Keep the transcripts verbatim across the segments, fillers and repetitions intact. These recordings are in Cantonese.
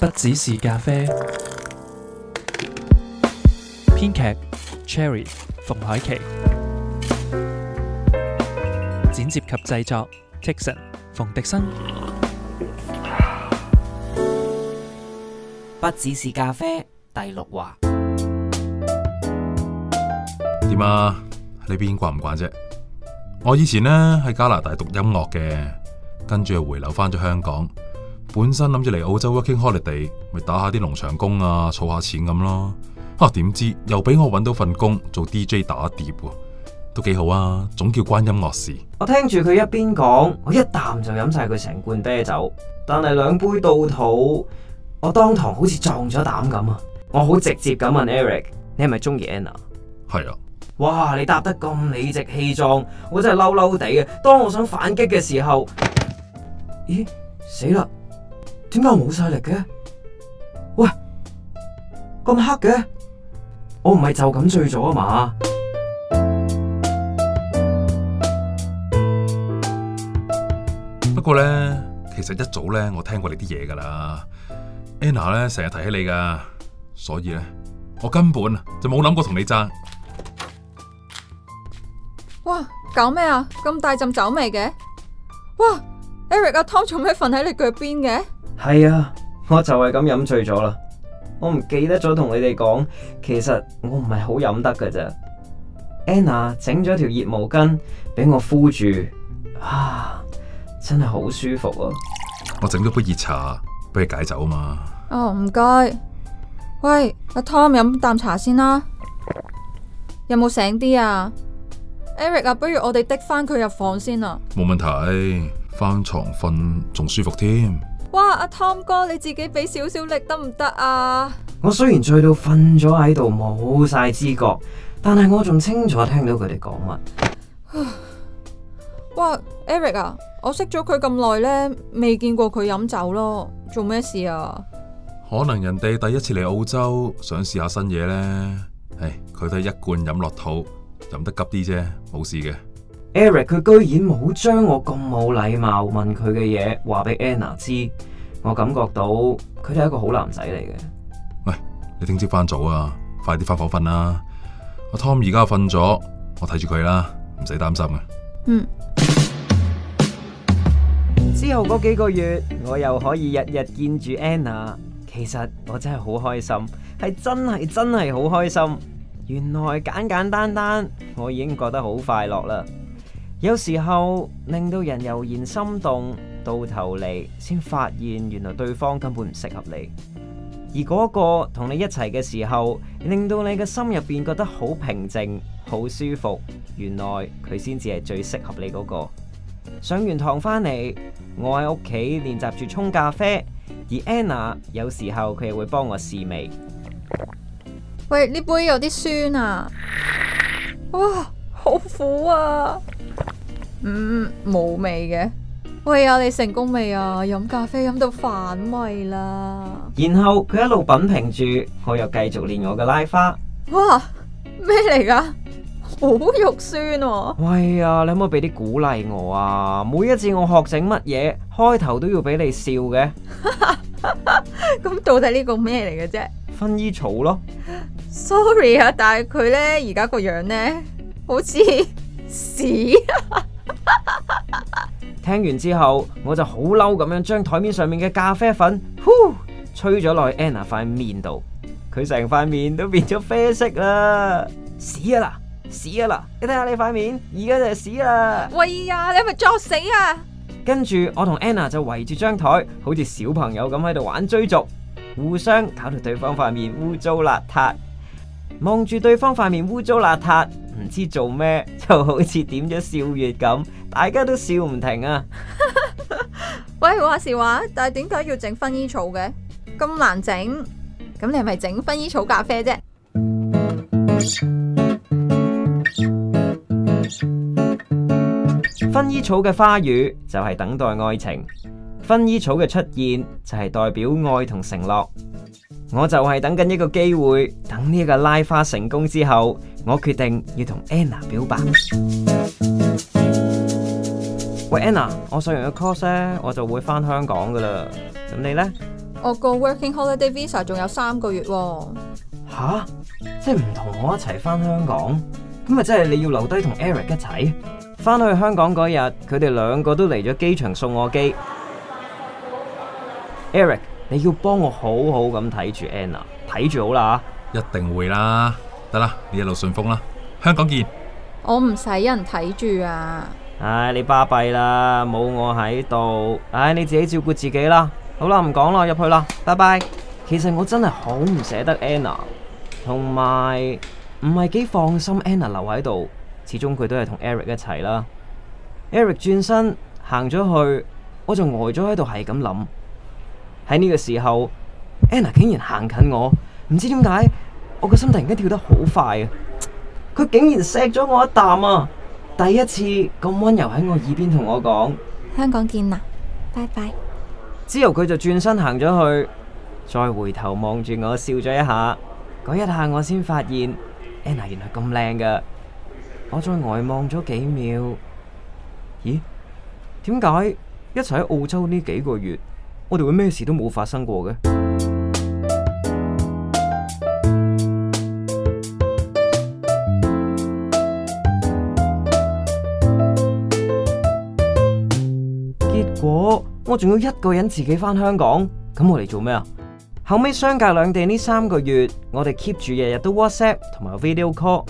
不只是咖啡。編劇 Cherry 馮海琪，剪接及製作 Tikson 馮迪生。 不只是咖啡第六話。 點啊？你邊慣唔慣啫？我以前呢喺加拿大讀音樂嘅，跟住又回流翻咗香港。本身諗住嚟澳洲 working holiday，咪打下啲農場工啊，儲下錢咁咯。啊，點知又俾我搵到份工做 D J 打碟喎，都幾好啊，總叫關音樂事。 我聽住佢一邊講，我一啖就飲晒佢成罐啤酒，但係兩杯到肚，我當堂好似撞咗膽咁啊！我好直接咁問 Eric， 你係咪中意 Anna？ 係啊。 哇！你答得咁理直氣壯，我真係嬲嬲地嘅。當我想反擊嘅時候，咦？死啦！點解我冇晒力嘅？喂，咁黑嘅？我唔係就咁醉咗啊嘛？ 不過呢，其實一早呢，我聽過你啲嘢噶啦。Anna 呢成日提起你噶，所以呢，我根本就冇諗過同你爭。 哇，搞咩啊？咁大陣酒味嘅？哇 ，Eric 阿 Tom 做咩瞓喺你腳邊嘅？ 係啊，我就係咁飲醉咗啦。我唔記得咗同你哋講，其實我唔係好飲得噶咋。Anna 整咗條熱毛巾俾我敷住，啊，真係好舒服啊！ 我整咗杯熱茶俾你解酒啊嘛。 哦，唔該。喂，阿 Tom 飲啖茶先啦。有冇醒啲啊？Eric 啊，不如我哋滴翻佢入房先啊。 冇問題，翻床瞓仲舒服添。 哇，阿 Tom 哥，你自己俾少少力得唔得啊？ 我雖然醉到瞓咗喺度冇晒知覺，但係我仲清楚聽到佢哋講乜。 哇 ，Eric 啊，我識咗佢咁耐呢，未見過佢飲酒咯，做咩事啊？ 可能人哋第一次嚟澳洲，想試下新嘢呢。唉，佢都係一罐飲落肚。飲得急啲啫，冇事嘅。 Eric 佢居然冇將我咁冇禮貌問佢嘅嘢話俾 Anna 知，我感覺到佢都係一個好男仔嚟嘅。 喂，你聽朝翻早啊，快啲翻房瞓啦。阿 Tom 而家瞓咗，我睇住佢啦，唔使擔心嘅。 嗯。 之後嗰幾個月，我又可以日日見住 Anna， 其實我真係好開心，係真係真係好開心。原來簡簡單單，我已經覺得好快樂啦。有時候令到人油然心動，到頭嚟先發現原來對方根本唔適合你。而嗰個同你一齊嘅時候，令到你嘅心入邊覺得好平靜、好舒服，原來佢先至係最適合你嗰個。上完堂返嚟，我喺屋企練習住沖咖啡，而 Anna 有時候佢又會幫我試味。 喂，呢杯有啲酸啊！哇，好苦啊！嗯，冇味嘅。喂啊，你成功未啊？飲咖啡飲到反胃啦！ 然後佢一路品評住，我又繼續練我嘅拉花。 哇，咩嚟噶？好肉酸喎！ 喂啊，你可唔可以俾啲鼓勵我啊？每一次我學整乜嘢，開頭都要俾你笑嘅。 咁到底呢個咩嚟嘅啫？ 薰衣草咯。 Sorry 啊，但係佢呢，而家個樣呢，好似屎。 聽完之後，我就好嬲咁樣將台面上面嘅咖啡粉，呼，吹咗落去 Anna 塊面度，佢成塊面都變咗啡色啦！屎啊啦，屎啊啦！你睇下你塊面，而家就係屎啦！ 喂呀，你係咪作死啊？ 跟住我同 Anna 就圍住張台，好似小朋友咁喺度玩追逐，互相搞到對方塊面污糟邋遢。望住對方塊面污糟邋遢，唔知做咩，就好似點咗笑穴咁，大家都笑唔停啊！ 喂，話時話，但係點解要整薰衣草嘅？咁難整，咁你係咪整薰衣草咖啡啫？ 薰衣草嘅花語就係等待愛情，薰衣草嘅出現就係代表愛同承諾。我就係等緊一個機會，等呢個拉花成功之後，我決定要同 Anna 表白。喂 Anna，我上完個 course 咧，我就會翻香港噶啦。咁你呢？ 我個 Working Holiday Visa 仲有三個月喎。 吓？即係唔同我一齊翻香港？咁咪即係你要留低同 Eric 一齊？翻去香港嗰日，佢哋兩個都嚟咗機場送我機。Eric，你要幫我好好咁睇住 Anna， 睇住好啦。 一定會啦。得啦，你一路順風啦，香港見。 我唔使人睇住啊。 唉，你巴閉啦，冇我喺度。唉，你自己照顧自己啦。好啦，唔講啦，入去啦，拜拜。其實我真係好唔捨得 Anna， 同埋唔係幾放心 Anna 留喺度，始終佢都係同 Eric 一齊啦。Eric 轉身行咗去，我就呆咗喺度，係咁諗。喺呢個時候 Anna 竟然行近我，唔知點解我個心突然間跳得好快啊！佢竟然錫咗我一啖啊！第一次咁溫柔喺我耳邊同我講香港見啦，拜拜。 之後佢就轉身行咗去，再回頭望住我笑咗一下。嗰一下我先發現 Anna 原來咁靚噶。我再呆望咗幾秒，咦？點解一齊喺澳洲呢幾個月，我哋會咩事都冇發生過嘅？結果我仲要一個人自己返香港，咁我嚟做咩啊？後尾相隔兩地呢三個月，我哋 keep 住日日都 WhatsApp 同埋 video call。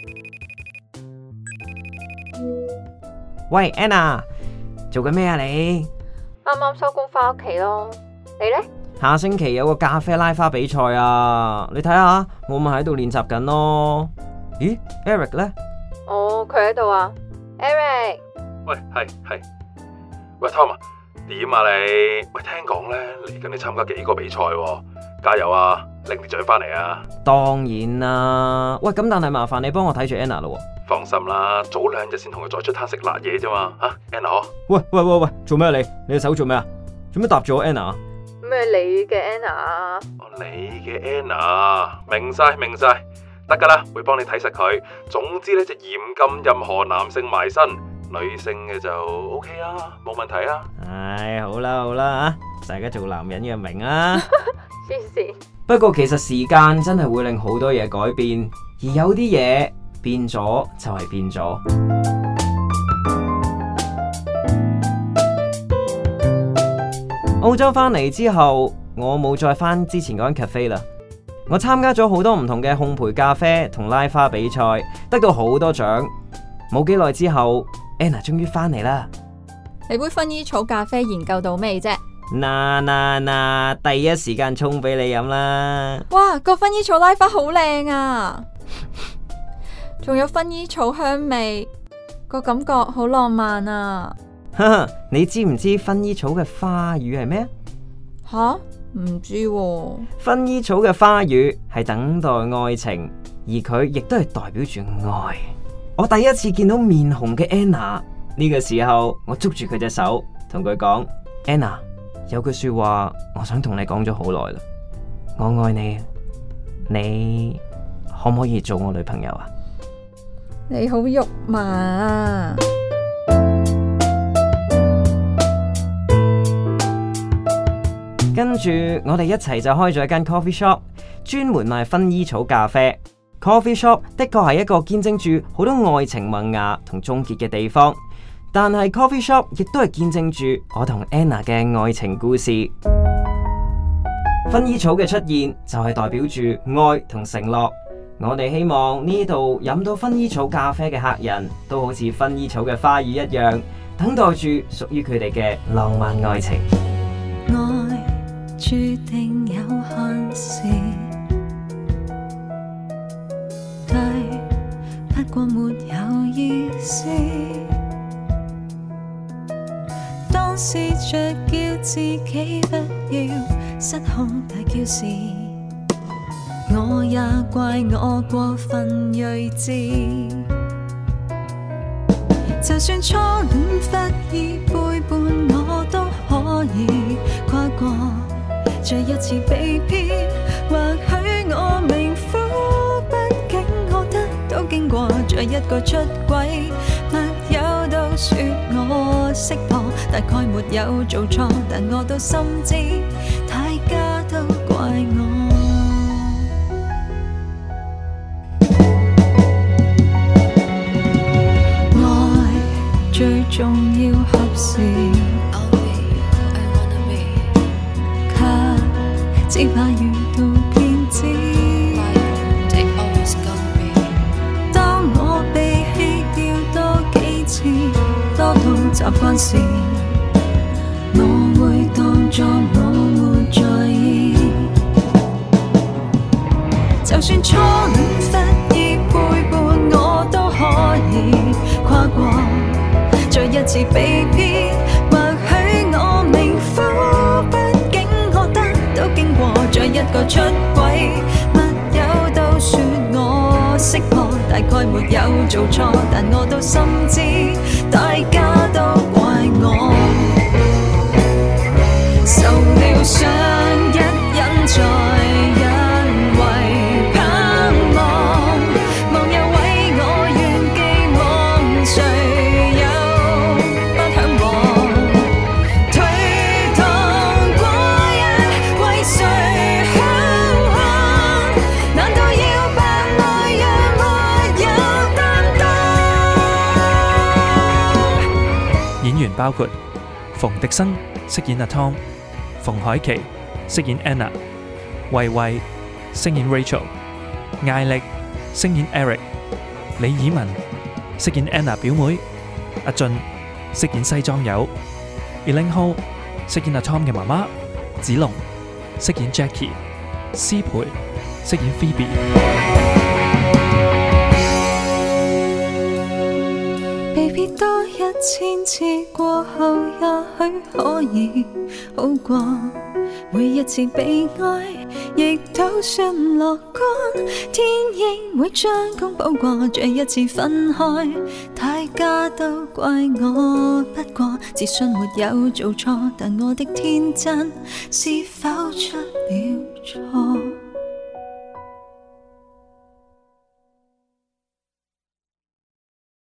喂 Anna， 做緊咩啊你？ 啱啱收工返屋企咯，你呢？ 下星期有個咖啡拉花比賽啊，你睇下，我咪喺度練習緊咯。咦 Eric 呢？ 哦，佢喺度啊 ，Eric。 喂，係係。喂 Tom 啊，點啊你？喂，聽講咧嚟緊你參加幾個比賽喎，加油啊，拎啲獎翻嚟啊！ 當然啦，喂，咁但係麻煩你幫我睇住 Anna 咯。 放心啦，早兩日先同佢再出攤食辣嘢啫嘛，吓 Anna 嗬？ 喂喂喂喂，做咩你？你隻手做咩啊？做咩搭住我 Anna？ 咩你嘅 Anna 啊？ 哦，你嘅 Anna，明晒明晒，得噶啦，會幫你睇實佢。總之咧就嚴禁任何男性埋身。女性嘅就 OK 啊，冇問題啊。 唉，好啦好啦，大家做男人嘅明啊。 黐線。 不過其實時間真係會令好多嘢改變，而有啲嘢變咗就係變咗。澳洲返嚟之後，我冇再返之前嗰間 cafe 啦。我參加咗好多唔同嘅烘焙咖啡同拉花比賽，得到好多獎。冇幾耐之後，Anna 終於返嚟啦！ 你杯薰衣草咖啡研究到未啫？ 嗱嗱嗱，第一時間沖俾你飲啦！ 哇，個薰衣草拉花好靚啊，仲有薰衣草香味，個感覺好浪漫啊！ 哈哈，你知唔知薰衣草嘅花語係咩？ 吓，唔知喎。 薰衣草嘅花語係等待愛情，而佢亦都係代表住愛。我第一次見到面紅嘅 Anna， 呢個時候我捉住佢隻手，同佢講 Anna， 有句說話我想同你講咗好耐啦，我愛你，你可唔可以做我女朋友啊？ 你好肉麻啊！ 跟住我哋一齊就開咗一間 coffee shop， 專門賣薰衣草咖啡。Coffee shop 的確係一個見證住好多愛情萌芽同終結嘅地方，但係 coffee shop 亦都係見證住我同 Anna 嘅愛情故事。薰衣草嘅出現就係代表住愛同承諾。我哋希望呢度飲到薰衣草咖啡嘅客人都好似薰衣草嘅花語一樣，等待住屬於佢哋嘅浪漫愛情。 愛注定有限時，不過沒有意思。當試着叫自己不要失控大叫時，我也怪我過分睿智。就算初戀忽意背叛，我都可以跨過這一次被騙。或許我命苦，畢竟我得到經過這一個出軌，沒有到說我識破，大概沒有做錯，但我都心知。 大家都怪我。愛最重要合時，卻只怕遇到騙子。當我被棄掉多幾次，多到習慣時，我會當作我沒在意。就算初戀失意背叛，我都可以跨過。再一次被騙，或許我命苦，畢竟我得到經過。再一個出軌，密友都說我識破，大概沒有做錯，但我都深知大家都怪我。受了傷一忍再因為盼望，忘又為我願寄望，誰又不向往？推搪過一為誰嚮往？難道要扮愛讓沒有擔當？ 演員包括馮迪生飾演阿 Tom， 馮海琪飾演 Anna， 慧慧飾演 Rachel， 艾力飾演 Eric， 李以文飾演 Anna 表妹，阿俊飾演西裝友，Elaine Ho 飾演阿 Tom 嘅媽媽，子龍飾演 Jackie， 施培飾演 Phoebe。 被別多一千次過後，也許可以好過。每一次被愛，亦都算樂觀。天應會將功補過，這一次分開，大家都怪我。不過自信沒有做錯，但我的天真是否出